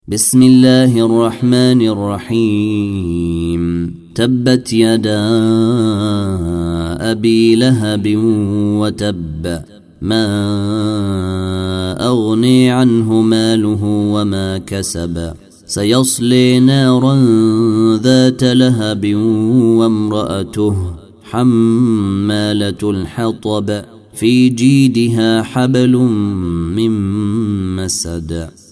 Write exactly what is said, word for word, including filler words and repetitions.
بسم الله الرحمن الرحيم تبت يدا أبي لهب وتب ما أغني عنه ماله وما كسب سيصلي نارا ذات لهب وامرأته حمالة الحطب في جيدها حبل من مسد